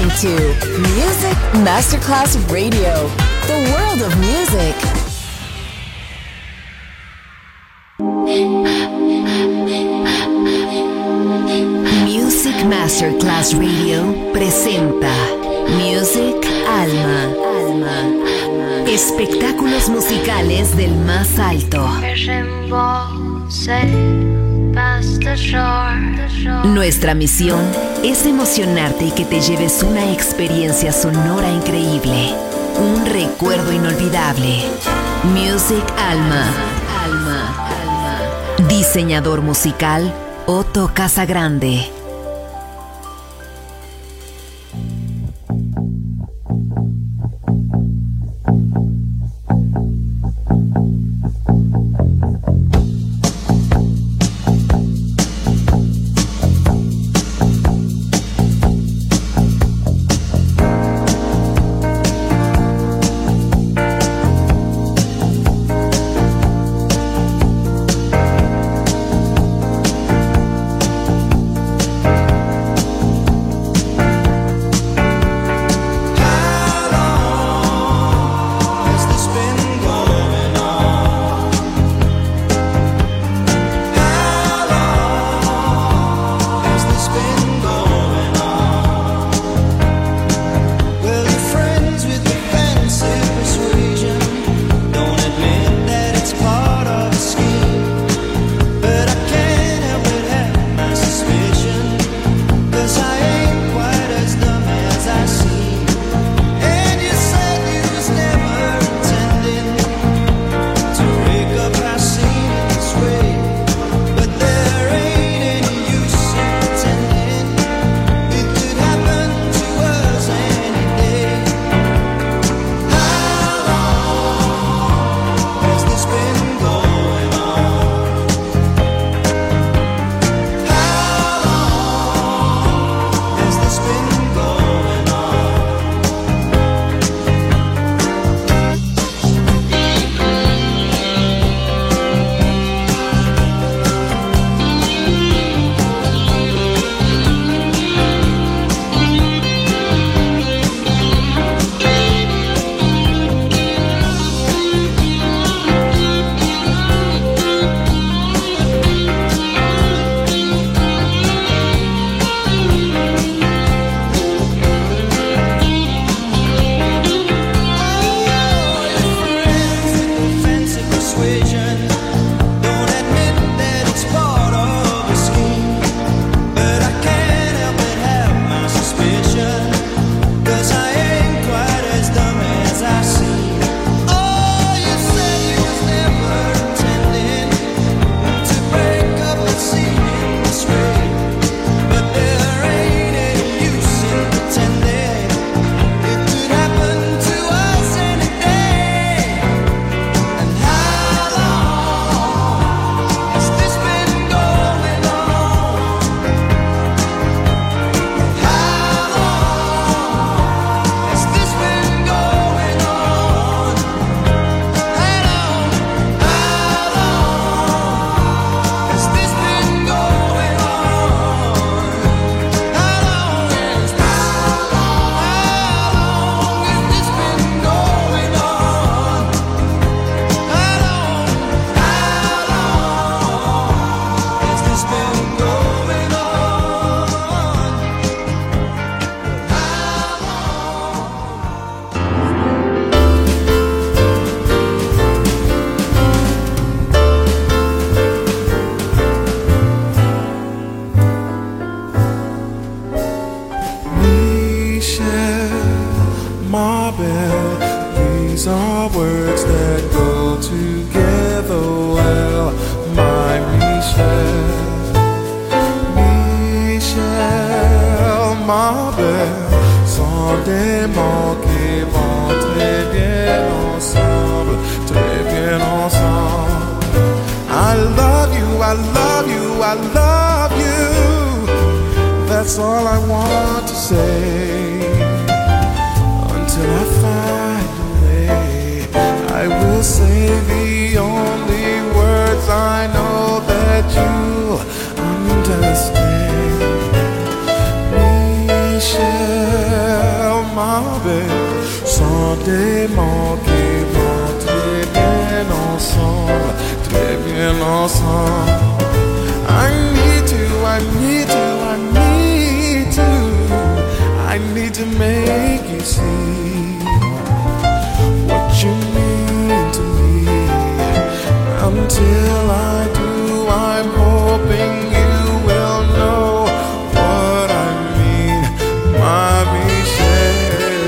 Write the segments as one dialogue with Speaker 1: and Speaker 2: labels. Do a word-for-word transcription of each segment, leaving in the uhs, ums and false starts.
Speaker 1: to Music Masterclass Radio, the world of music. Music Masterclass Radio presenta Music Alma. Alma. Espectáculos musicales del más alto. Nuestra misión es emocionarte y que te lleves una experiencia sonora increíble, un recuerdo inolvidable. Music Alma. Alma. Alma. Diseñador musical Otto Casagrande.
Speaker 2: Understand, Michelle. belle, sans démanquement, très bien ensemble, très bien ensemble. I need to, I need to, I need to, I need to make you see what you mean to me. Until I do, I'm hoping you will know what I mean, my Michelle.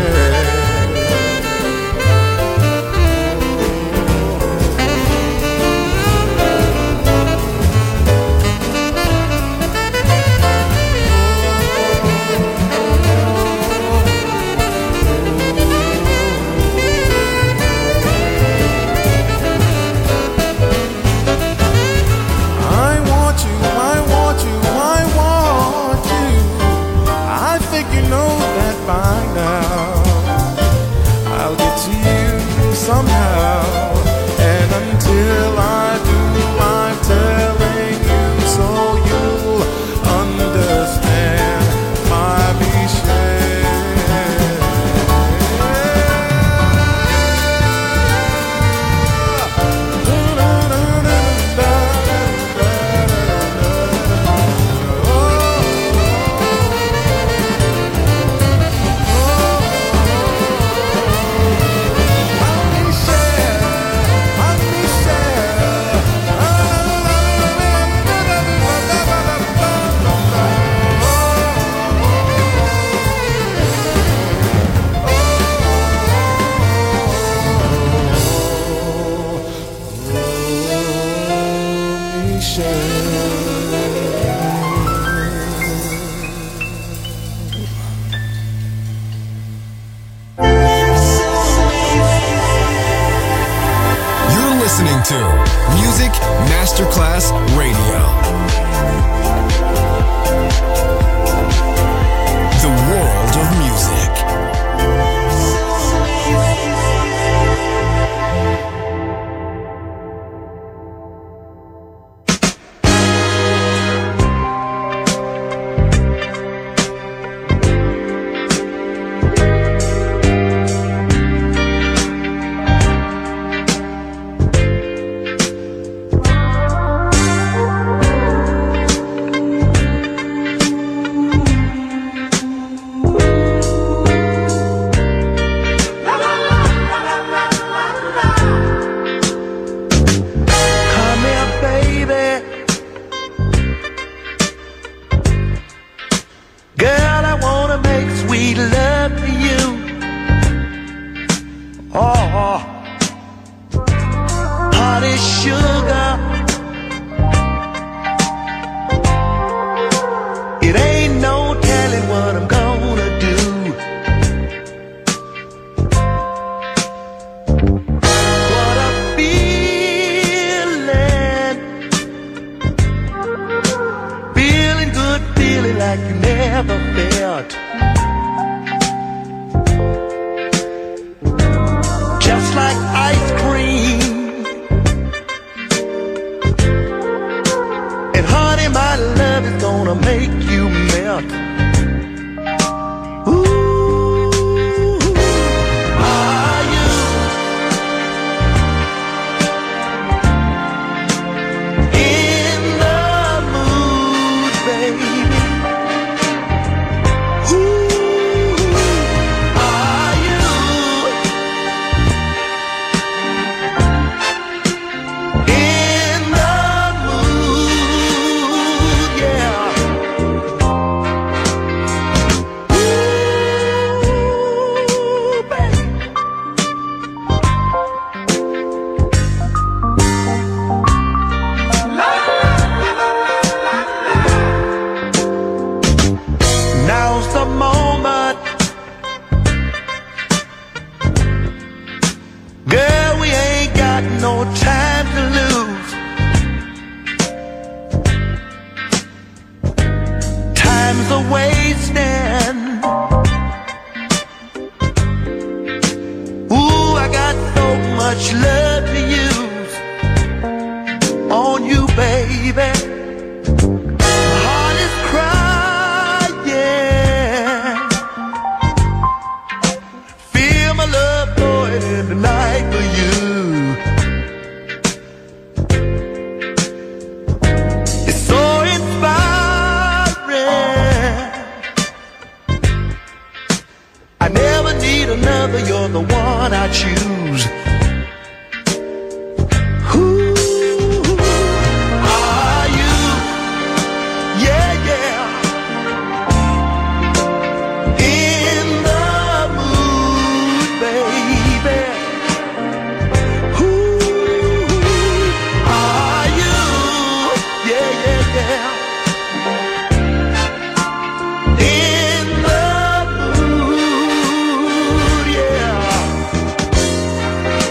Speaker 2: Somehow, and until I do, I'm telling you so you'll understand, my Michelle.
Speaker 3: Music Masterclass Radio. The world of music.
Speaker 4: baby. My heart is crying. never need another, you're the one I choose. Who are you? Yeah, yeah. In the mood, baby. Who are you? Yeah, yeah, yeah. In the mood, yeah.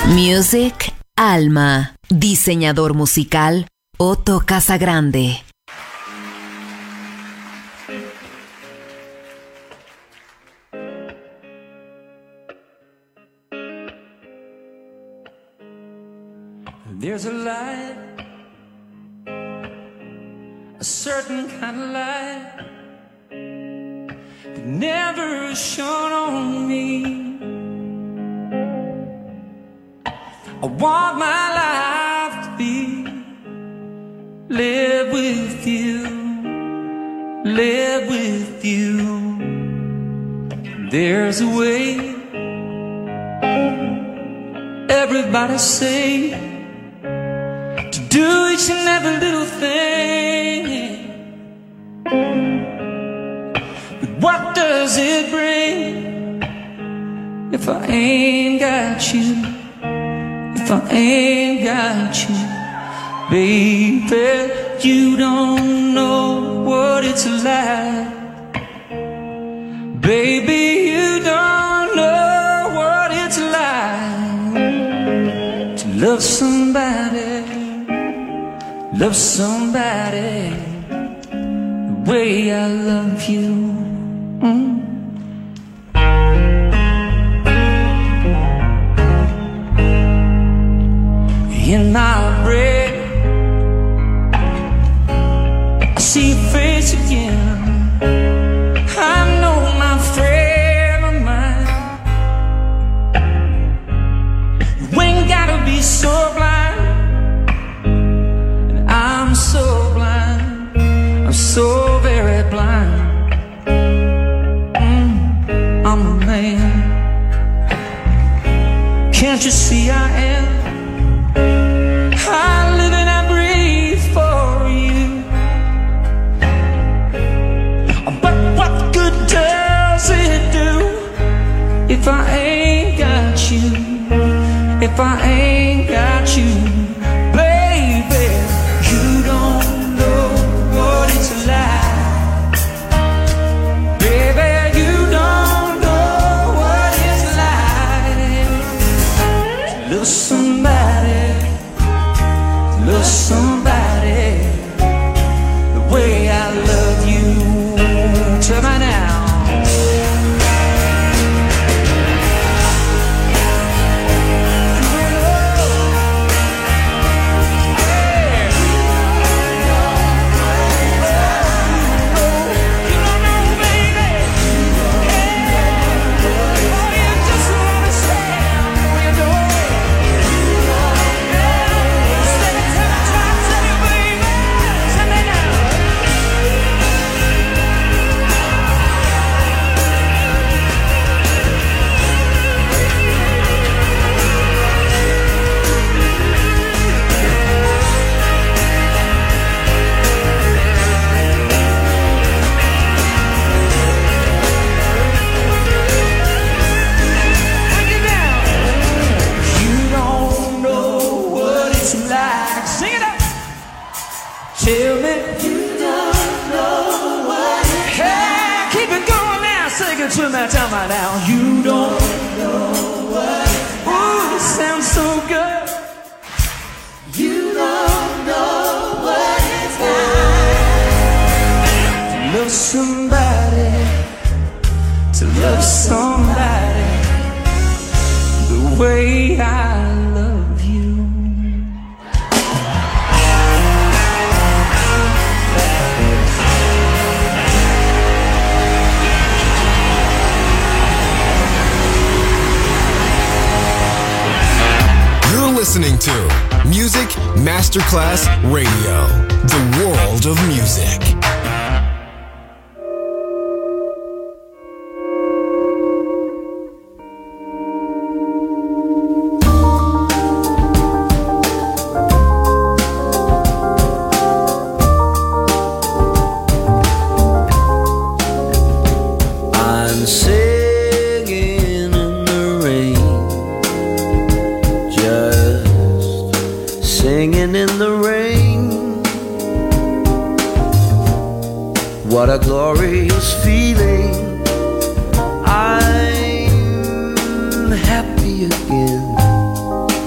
Speaker 1: Music Alma. Diseñador musical Otto Casagrande.
Speaker 5: There's a light, a certain kind of light that never shone on me. I want my life to be live with you, live with you. There's a way, everybody say, to do each and every little thing. But what does it bring if I ain't got you? If I ain't got you, baby, you don't know what it's like. Baby, you don't know what it's like to love somebody, love somebody the way I love you. Mm. In my bread, I see your face again. I know my friend of mine. You ain't gotta be so blind, and I'm so blind, I'm so very blind. Mm, I'm a man. Can't you see I am? I live and I breathe for you. But what good does it do if I ain't got you? If I ain't got you, baby, you don't know what it's like. Baby, you don't know what it's like to love somebody, love somebody the way I love you. Tell me now. Tell me you don't know what it's hey, like. Keep it going now, sing it to me, tell me now. You don't know what it's like. Ooh, it sounds so good. You don't know what it's like to love somebody, to love somebody the way I love you.
Speaker 3: Listening to Music Masterclass Radio, the world of music.
Speaker 6: I'm singing in the rain, singing in the rain. What a glorious feeling. I'm happy again.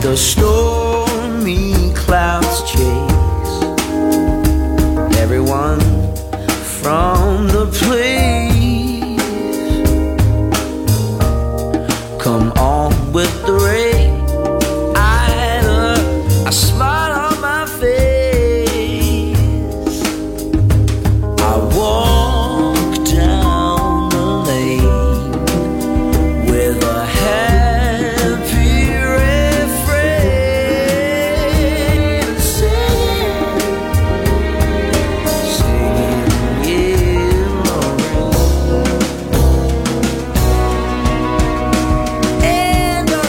Speaker 6: the stormy clouds chase everyone from the place. Come on with the rain, either a smile on my face. I walk down the lane with a happy refrain, singing, singing in the rain, in the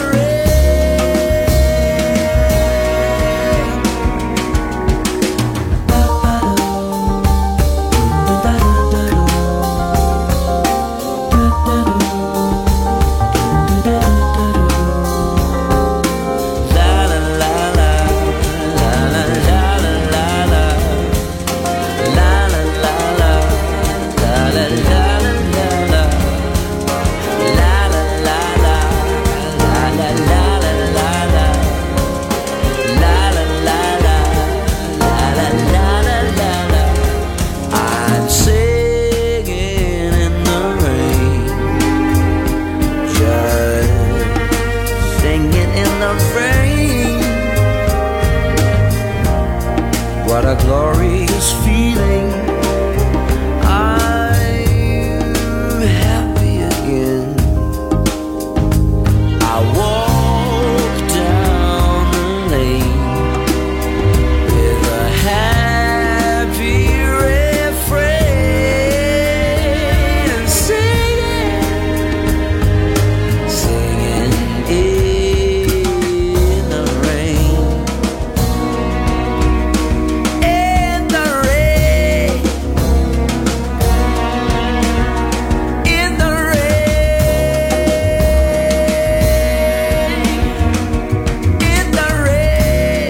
Speaker 6: I'm singing in the rain, just singing in the rain. What a glorious feeling. I'm happy again. I walk down the lane with a happy refrain, singing, singing in the rain, in the rain, in the rain, in the rain.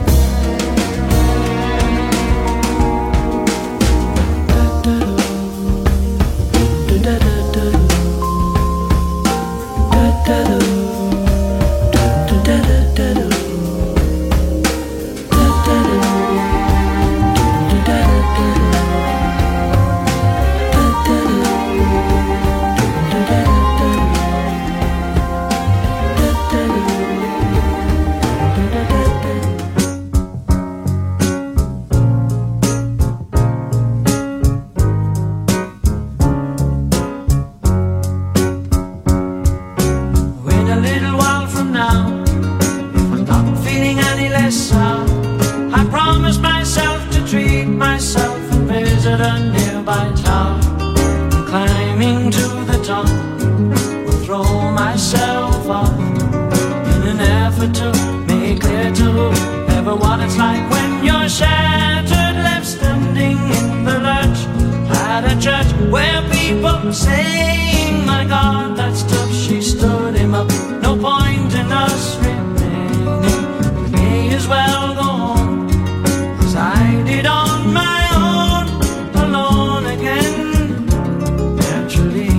Speaker 5: Wait a little while from now, if I'm not feeling any less sound, I promise myself to treat myself and visit a nearby town. Climbing to the top, will throw myself off in an effort to make clear to whoever what it's like when you're shattered, left standing in the lurch at a church where people were saying, my God, that's tough. She stood him up. No point in us remaining. We may as well go on as I did on my own, alone again. Naturally,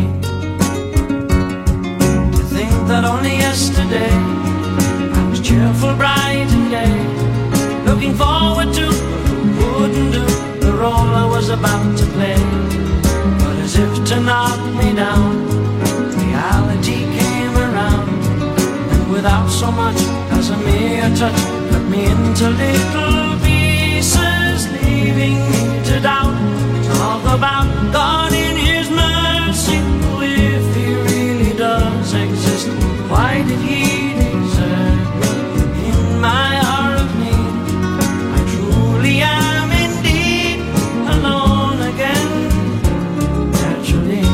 Speaker 5: to think that only yesterday I was cheerful, bright and gay, looking forward to what wouldn't do the role I was about to play. But as if to knock me down, reality came around, and without so much as a mere touch, cut me into little pieces, leaving me to doubt. Talk about God in His mercy, if He really does exist, why did He desert me in my hour of need? I truly am indeed alone again. Naturally,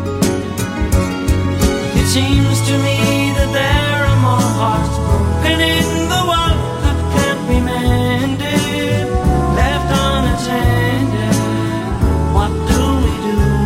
Speaker 5: it seems to me that there are more hearts broken in the world that can't be mended, left unattended. What do we do?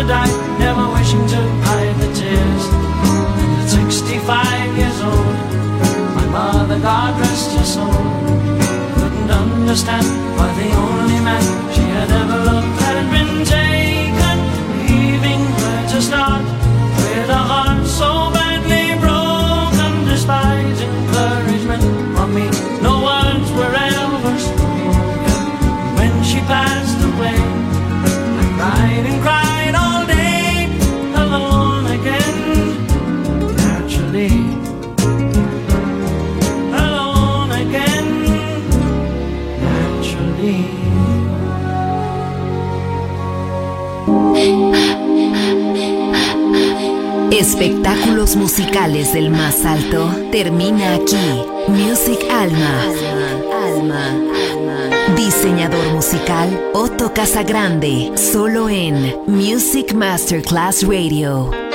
Speaker 5: to die, never wishing to hide the tears. And at sixty-five years old, my mother, God rest her soul, couldn't understand why the only man she had ever loved had been taken, leaving her to start with a heart so badly broken. Despite encouragement from me, no words were ever spoken. When she passed away, I cried and cried all day, alone again, naturally. Alone again, naturally.
Speaker 1: Espectáculos musicales del más alto termina aquí. Music Alma. Alma. Alma. Diseñador musical Otto Casagrande, solo en Music Masterclass Radio.